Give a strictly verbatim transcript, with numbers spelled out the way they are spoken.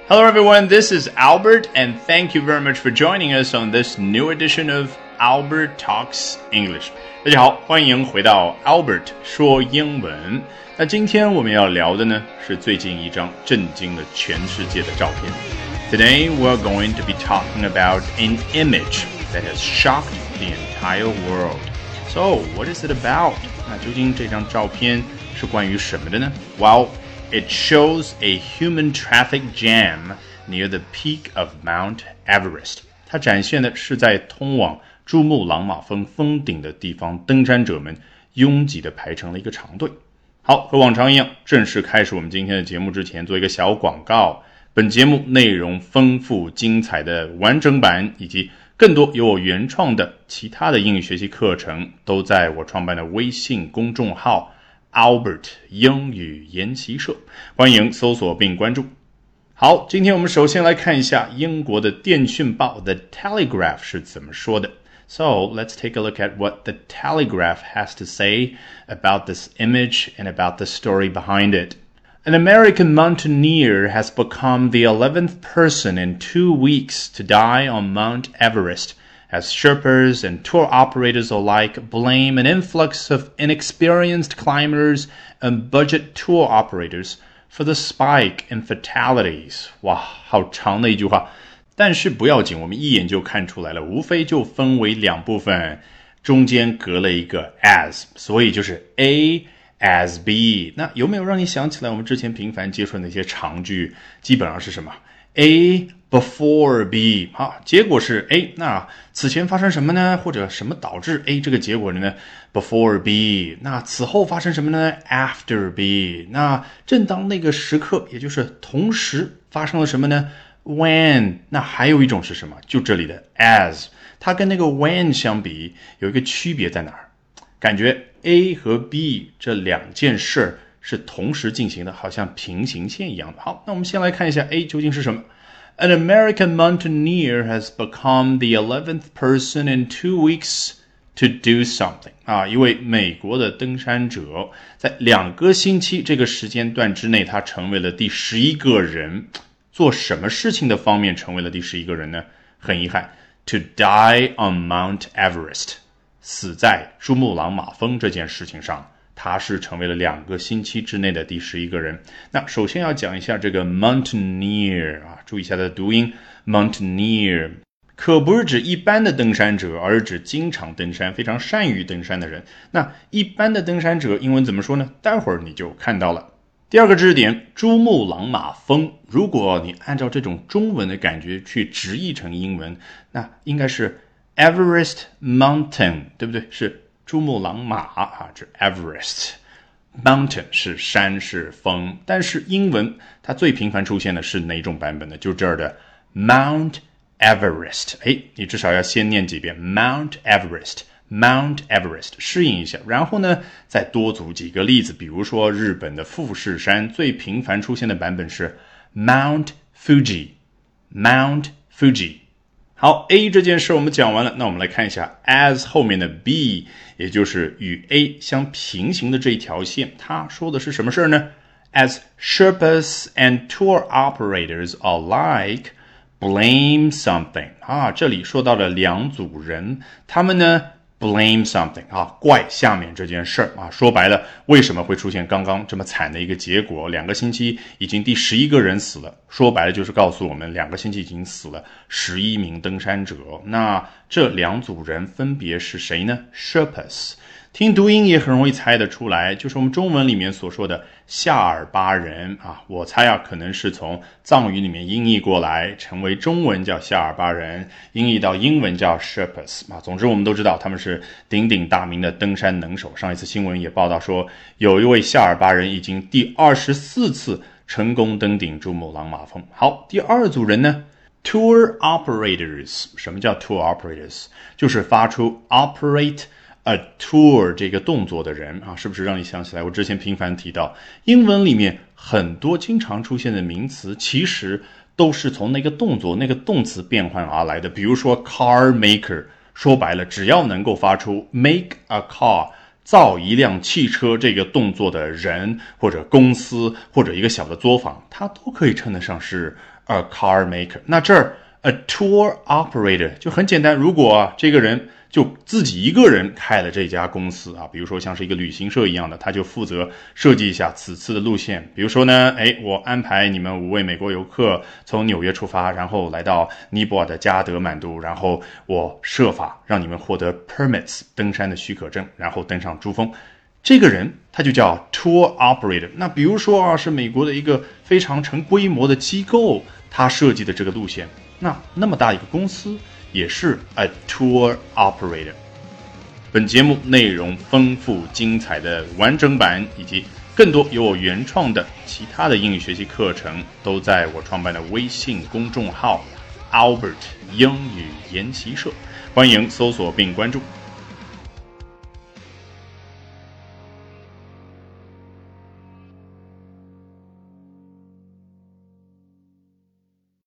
Hello everyone, this is Albert, and thank you very much for joining us on this new edition of Albert Talks English. 大家好，欢迎回到 Albert 说英文。那今天我们要聊的呢，是最近一张震惊了全世界的照片。Today we're going to be talking about an image that has shocked the entire world. So, what is it about? 那究竟这张照片是关于什么的呢？ Well, it shows a human traffic jam near the peak of Mount Everest. 它展现的是在通往珠穆朗玛峰峰顶的地方，登山者们拥挤地排成了一个长队。好，和往常一样，正式开始我们今天的节目之前，做一个小广告。本节目内容丰富精彩的完整版，以及更多由我原创的其他的英语学习课程，都在我创办的微信公众号 Albert 英语研习社，欢迎搜索并关注。好，今天我们首先来看一下英国的电讯报 The Telegraph 是怎么说的。So, let's take a look at what the Telegraph has to say about this image and about the story behind it. An American mountaineer has become the eleventh person in two weeks to die on Mount Everest, as Sherpas and tour operators alike blame an influx of inexperienced climbers and budget tour operators for the spike in fatalities. 哇，好长的一句话。但是不要紧，我们一眼就看出来了，无非就分为两部分，中间隔了一个 as， 所以就是 A as B。 那有没有让你想起来我们之前频繁接触的那些长句，基本上是什么 A before B。 好，结果是 A， 那此前发生什么呢？或者什么导致 A 这个结果呢？ before B。 那此后发生什么呢？ after B。 那正当那个时刻，也就是同时发生了什么呢？When， 那还有一种是什么？就这里的 as， 它跟那个 when 相比有一个区别在哪儿？感觉 A 和 B 这两件事是同时进行的，好像平行线一样的。好，那我们先来看一下 A 究竟是什么。An American mountaineer has become the eleventh person in two weeks to do something. 啊，一位美国的登山者在两个星期这个时间段之内，他成为了第十一个人。做什么事情的方面成为了第十一个人呢？很遗憾 ，to die on Mount Everest， 死在珠穆朗玛峰这件事情上，他是成为了两个星期之内的第十一个人。那首先要讲一下这个 mountaineer 啊，注意一下它的读音 mountaineer， 可不是指一般的登山者，而是指经常登山、非常善于登山的人。那一般的登山者英文怎么说呢？待会儿你就看到了。第二个知识点，珠穆朗玛峰，如果你按照这种中文的感觉去直译成英文，那应该是 Everest Mountain， 对不对？是珠穆朗玛啊，这 Everest Mountain 是山是峰，但是英文它最频繁出现的是哪种版本呢？就这儿的 Mount Everest。哎，你至少要先念几遍 Mount Everest。Mount Everest 适应一下，然后呢再多组几个例子，比如说日本的富士山最频繁出现的版本是 Mount Fuji Mount Fuji。 好， A 这件事我们讲完了，那我们来看一下 as 后面的 B， 也就是与 A 相平行的这一条线，它说的是什么事呢？ As Sherpas and tour operators alike blame something， 啊，这里说到了两组人，他们呢blame something 啊，怪下面这件事儿啊，说白了，为什么会出现刚刚这么惨的一个结果？两个星期已经第十一个人死了，说白了就是告诉我们，两个星期已经死了十一名登山者。那这两组人分别是谁呢？ Sherpas， 听读音也很容易猜得出来，就是我们中文里面所说的夏尔巴人啊，我猜啊，可能是从藏语里面音译过来，成为中文叫夏尔巴人，音译到英文叫 Sherpas 啊。总之我们都知道他们是鼎鼎大名的登山能手。上一次新闻也报道说，有一位夏尔巴人已经第二十四次成功登顶珠穆朗玛峰。好，第二组人呢 Tour operators。 什么叫 Tour operators？ 就是发出 operate a tour 这个动作的人啊，是不是让你想起来我之前频繁提到英文里面很多经常出现的名词其实都是从那个动作那个动词变换而来的。比如说 car maker， 说白了只要能够发出 make a car， 造一辆汽车这个动作的人或者公司或者一个小的作坊，它都可以称得上是 a car maker。那这儿 a tour operator 就很简单，如果、啊、这个人就自己一个人开了这家公司啊，比如说像是一个旅行社一样的，他就负责设计一下此次的路线。比如说呢，哎，我安排你们五位美国游客从纽约出发，然后来到尼泊尔的加德满都，然后我设法让你们获得 permits 登山的许可证，然后登上珠峰。这个人他就叫 tour operator。那比如说啊，是美国的一个非常成规模的机构，他设计的这个路线，那那么大一个公司也是 a tour operator。 本节目内容丰富精彩的完整版以及更多由我原创的其他的英语学习课程都在我创办的微信公众号 Albert 英语研习社，欢迎搜索并关注。